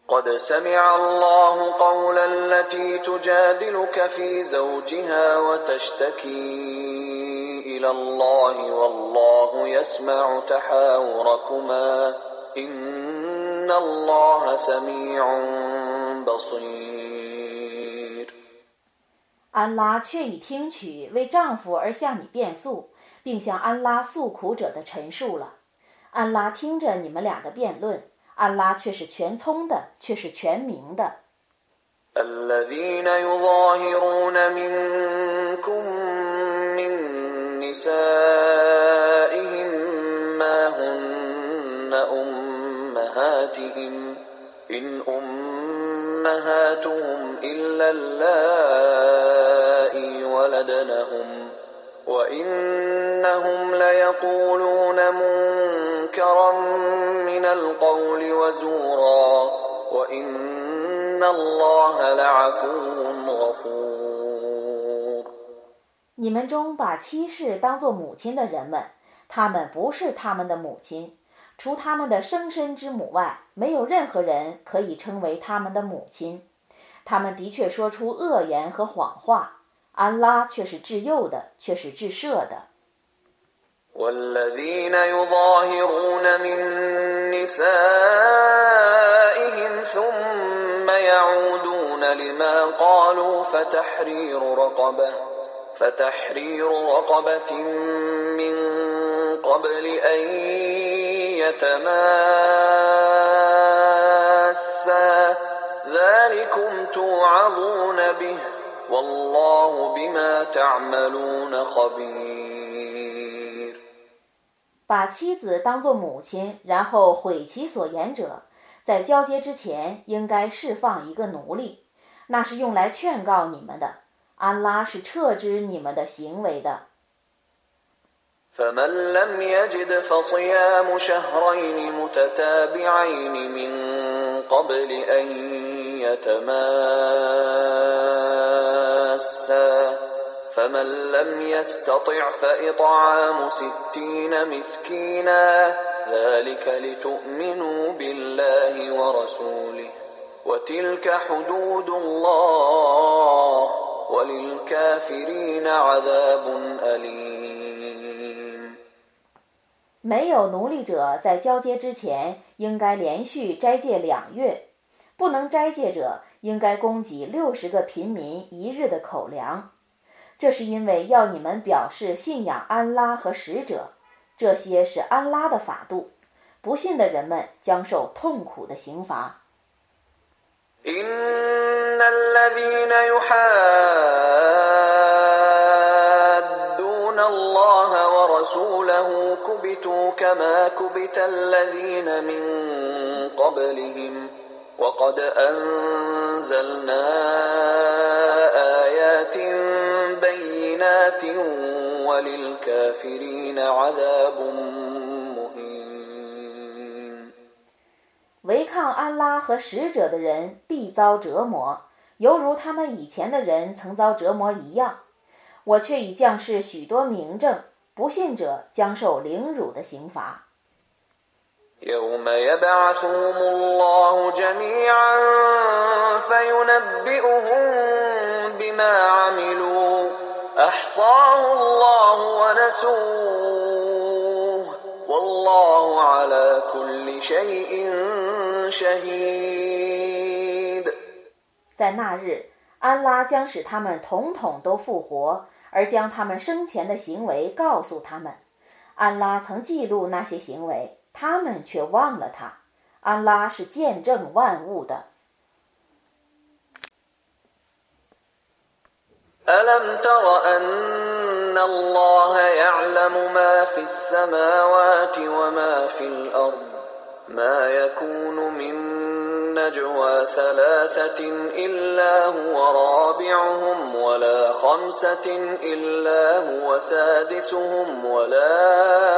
قد سمع الله قول التي تجادلك في زوجها وتشتكي إلى الله والله يسمع تحاوركما إن الله سميع بصير。 安拉却已听取为丈夫而向你辩诉，并向安拉诉苦者的陈述了。安拉听着你们俩的辩論，安拉却是全聰的，却是全明的。 الذين يظاهرون منكم من نسائهم ما هن أمهاتهم إن أمهاتهم إلا اللائي ولدنهم وإنهم ليقولون منكرا من القول وزورا وإن الله لعفو غفور。 你们中把妻室当作母親的人們，他們不是他們的母親，除他們的生身之母外，沒有任何人可以稱為他們的母親。他們的確說出惡言和謊話，安拉卻是至幼的，卻是至赦的。 والذين يظاهرون من نسائهم ثم يعودون لما قالوا فتحرير رقبة من قبل أن يتماسا ذلكم توعظون به والله بما تعملون خبير。 把妻子當作母親，然後毀其所言者，在交接之前應該釋放一個奴隸，那是用來勸告你們的，安拉是徹知你們的行為的。 فمن لم يجد فصيام شهرين متتابعين من قبل أن يتماسا فمن لم يستطع فإطعام 60 مسكينا ذلك لتؤمنوا بالله ورسوله وتلك حدود الله وللكافرين عذاب أليم。 沒有奴隸者在交接之前應該連續齋戒2月，不能齋戒者應該供給60個貧民1日的口糧。這是因為要你們表示信仰安拉和使者，這些是安拉的法度，不信的人們將受痛苦的刑罰。 إن الذين يحادون الله ورسوله كبتوا كما كبت الذين من قبلهم وقد أنزلنا آيات بينات وللكافرين عذاب مهين。 違抗安拉和使者的人必遭折磨，猶如他們以前的人曾遭折磨一樣。我卻已降示許多明證，不信者將受凌辱的刑罰。 يوم يبعثهم الله جميعا فينبئهم بما عملوا أحصاه الله ونسوه والله على كل شيء شهيد。 在那日，安拉將使他們統統都復活，而將他們生前的行為告訴他們。安拉曾記錄那些行為，他們卻忘了他。安拉是見證萬物的。 ألم تر أن الله يعلم ما في السماوات وما في الأرض ما يكون من نجوى 3 إلا هو رابعهم ولا 5 إلا هو سادسهم ولا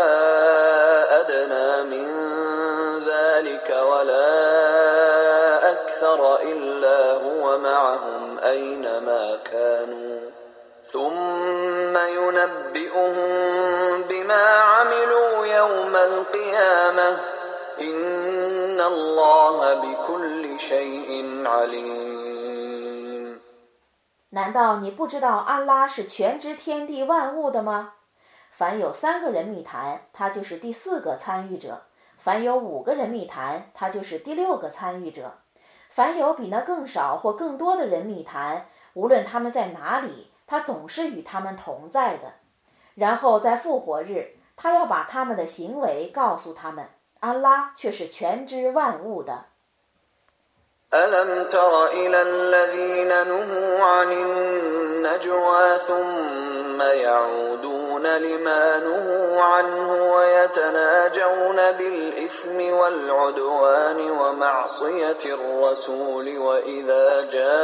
أدنى من ذلك ولا أكثر إلا هو معهم أينما كانوا ثم ينبئهم بما عملوا يوم القيامة إن الله بكل شيء عليم。 难道你不知道安拉是全知天地万物的吗？凡有3个人密谈，他就是第4个參與者；凡有5個人密談，他就是第6個參與者；凡有比那更少或更多的人密談，無論他們在哪裡，他總是與他們同在的。然後在復活日，他要把他們的行為告訴他們，安拉卻是全知萬物的。 ألم تر إلى الذين نهوا عن النجوى ثم يعودون لما نهوا عنه ويتناجون بالإثم والعدوان ومعصية الرسول وإذا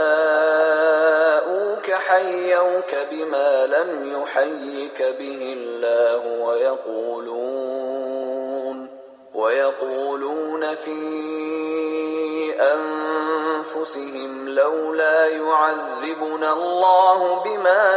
جاءوك حيوك بما لم يحيك به الله ويقولون في أنفسهم لولا يعذبنا الله بما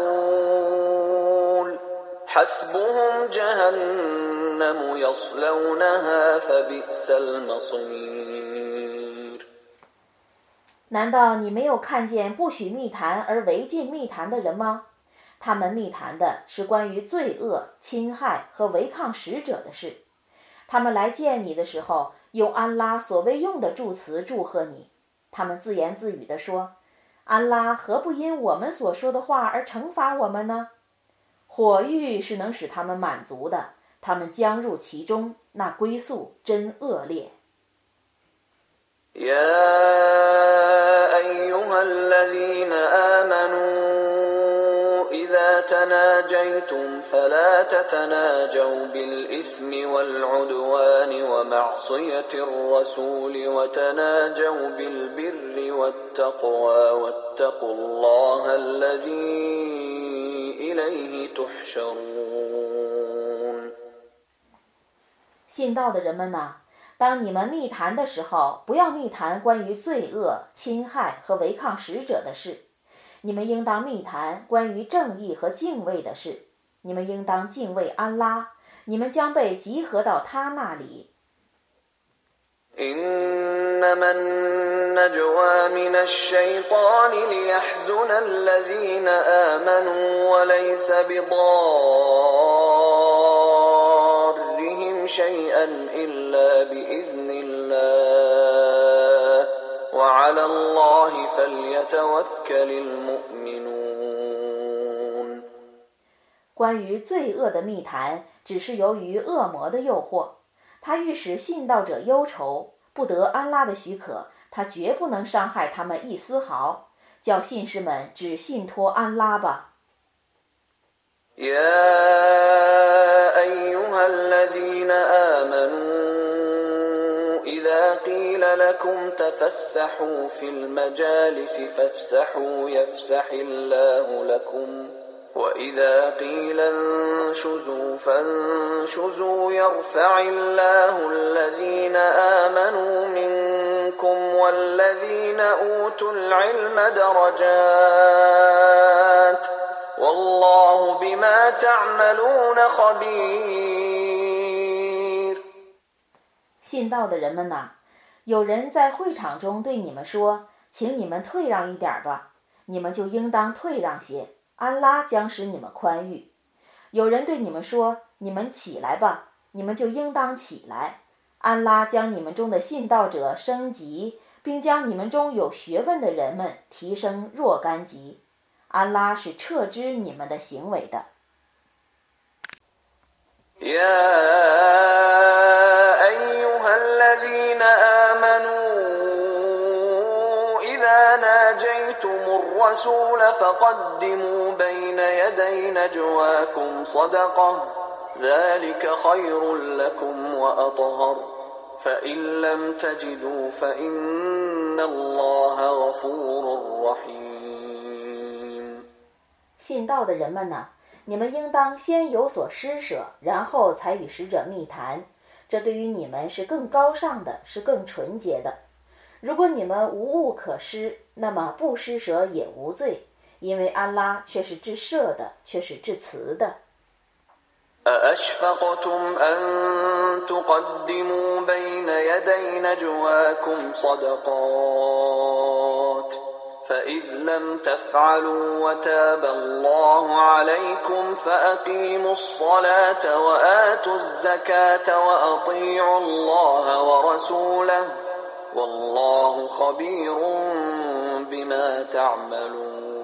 نقول حسبهم جهنم يصلونها فبئس المصير。 難道你沒有看見不許密談而違禁密談的人嗎？他們密談的是關於罪惡、侵害和違抗使者的事。他們來見你的時候，用安拉所未用的助詞祝賀你。他們自言自語地說，安拉何不因我們所說的話而懲罰我們呢？火獄是能使他們滿足的，他們將入其中，那歸宿真惡劣。 أيها الذين آمنوا إذا تناجيتم فلا تتناجوا بالإثم والعدوان ومعصية الرسول وتناجوا بالبر والتقوى واتقوا الله الذي إليه تحشرون。 信道的人們吶，當你們密談的時候，不要密談關於罪惡、侵害和違抗使者的事。你們應當密談關於正義和敬畏的事。你們應當敬畏安拉，你們將被集合到他那裡。 إنما النجوى من الشيطان ليحزن الذين آمنوا وليس بضارهم شيئا إلا بإذن الله وعلى الله فليتوكل المؤمنون。 關於罪惡的密談，只是由於惡魔的誘惑，他欲使信道者憂愁，不得安拉的許可，他絕不能傷害他們一絲毫，叫信士們只信托安拉吧。 أيها الذين آمنوا إذا قيل لكم تفسحوا في المجالس فافسحوا يفسح الله لكم وإذا قيل انشزوا فانشزوا يرفع الله الذين آمنوا منكم والذين أوتوا العلم درجات والله بما تعملون خبير。 信道的人們吶，有人在會場中對你們說，請你們退讓一點吧，你們就應當退讓些，安拉將使你們寬裕。有人對你們說，你們起來吧，你們就應當起來，安拉將你們中的信道者升級，並將你們中有學問的人們提升若干級。安拉是徹知你們的行為的。 أيها الذين آمنوا إذا ناجيتم الرسول فقدموا بين يدي نجواكم صدقة ذلك خير لكم وأطهر فإن لم تجدوا فإن الله غفور رحيم。 信道的人們吶，你們應當先有所施捨，然後才與使者密談，這對於你們是更高尚的，是更純潔的。如果你們無物可施，那麼不施捨也無罪，因為安拉卻是至赦的，卻是至慈的。 أأشفقتم أن تقدموا بين يدي نجواكم صدقات فإذ لم تفعلوا وتاب الله عليكم فأقيموا الصلاة وآتوا الزكاة وأطيعوا الله ورسوله والله خبير بما تعملون。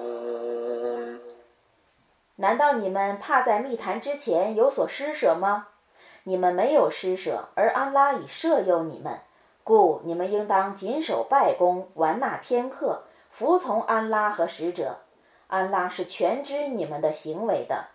难道你们怕在密谈之前有所施舍吗？你们没有施舍，而安拉已摄佑你们，故你们应当谨守拜功，完纳天课，服从安拉和使者。安拉是全知你们的行为的。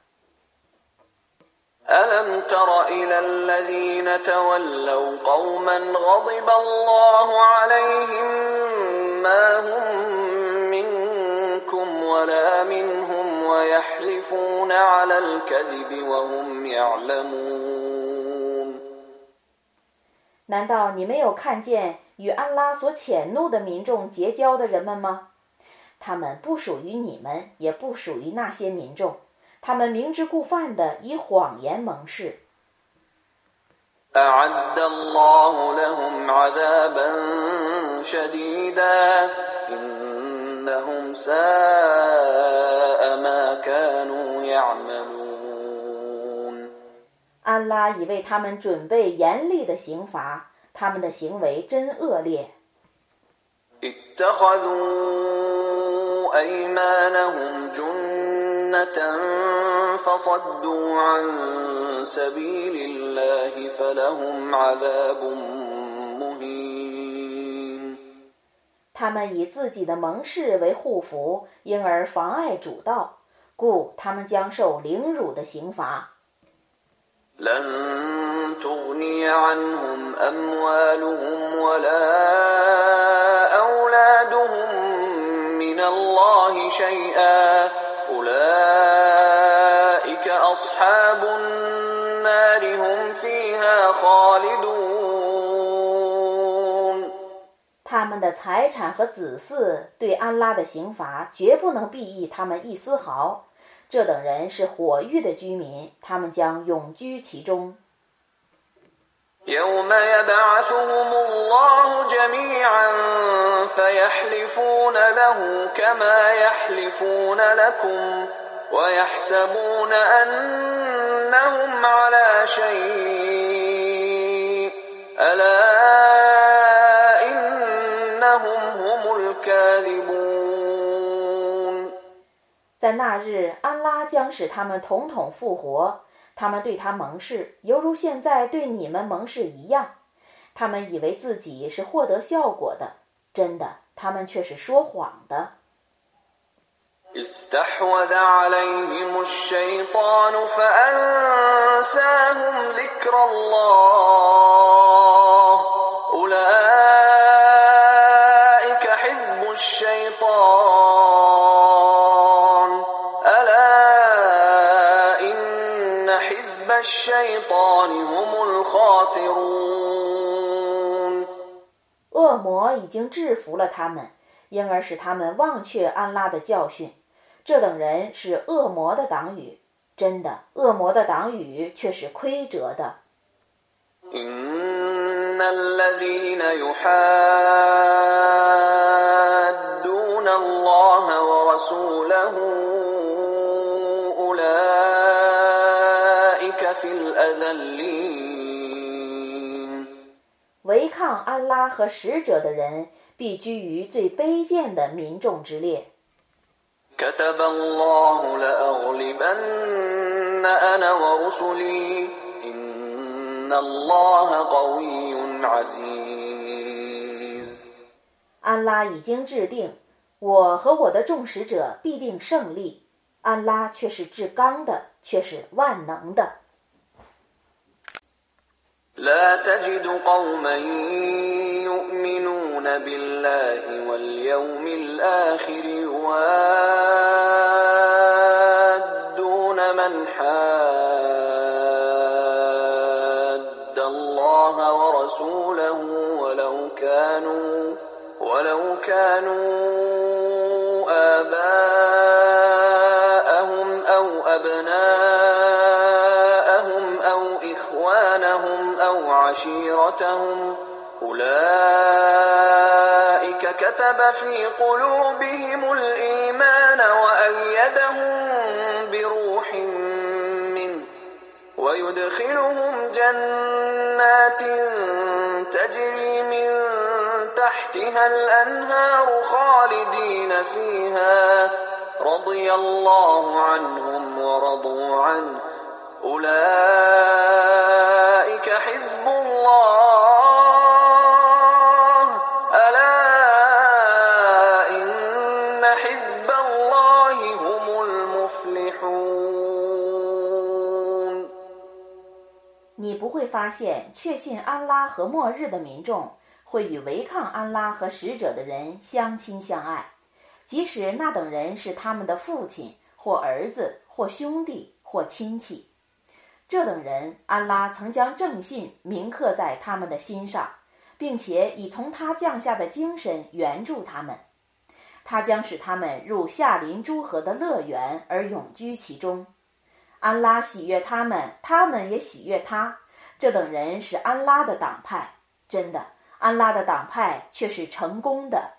ألم تر إلى الذين تولوا قوما غضب الله عليهم ما هم منكم ولا منهم ويحلفون على الكذب وهم يعلمون。 难道你没有看見與安拉所譴怒的民眾結交的人們嗎？他們不屬於你們，也不屬於那些民眾。他們明知故犯地以謊言盟誓。 أعد الله لهم عذابا شديدا إنهم ساء ما كانوا يعملون。 安拉已為他們準備嚴厲的刑罰，他們的行為真惡劣。 اتخذوا أيمانهم فصدوا عن سبيل الله فلهم عذاب مهين。 他們以自己的盟誓為護符，因而妨礙主道，故他們將受凌辱的刑罰。 لن تغني عنهم أموالهم ولا أولادهم من الله شيئا أولئك أصحاب النار هم فيها خالدون。 他們的財產和子嗣對安拉的刑罰絕不能裨益他們一絲毫，這等人是火獄的居民，他們將永居其中。 يوم يبعثهم الله جميعا فيحلفون له كما يحلفون لكم ويحسبون أنهم على شيء ألا إنهم هم الكاذبون。 在那日，安拉將使他們統統復活，他們對他盟誓，猶如現在對你們盟誓一樣。他們以為自己是獲得效果的，真的，他們卻是說謊的。 استحوذ عليهم الشيطان فأنساهم ذكر الله أولئك حزب الشيطان ألا إن حزب الشيطان هم الخاسرون。 惡魔已經制服了他們，因而使他們忘卻安拉的教訓。這等人是惡魔的黨羽，真的，惡魔的黨羽卻是虧折的。 إن الذين يحادون الله ورسوله أولئك في الأذلين。 違抗安拉和使者的人必居於最卑賤的民眾之列。 كتب الله لأغلبن أنا ورسلي إن الله قوي عزيز。 安拉已經制定，我和我的眾使者必定勝利。安拉卻是至剛的，卻是萬能的。 لا تجد قوما يؤمنون بالله واليوم الآخر يوادون من حاد الله ورسوله ولو كانوا آباءهم أو أبناءهم هجرتهم أولئك كتب في قلوبهم الإيمان وأيدهم بروح منه ويدخلهم جنات تجري من تحتها الأنهار خالدين فيها رضي الله عنهم ورضوا عنه أولئك حزب الله ألا إن حزب الله هم المفلحون 你不会发现确信安拉和末日的民众会与违抗安拉和使者的人相亲相爱，即使那等人是他们的父親或兒子或兄弟或親戚。這等人，安拉曾將正信銘刻在他們的心上，並且以從他降下的精神援助他們。他將使他們入夏臨諸河的樂園而永居其中。安拉喜悅他們，他們也喜悅他。這等人是安拉的黨派，真的，安拉的黨派卻是成功的。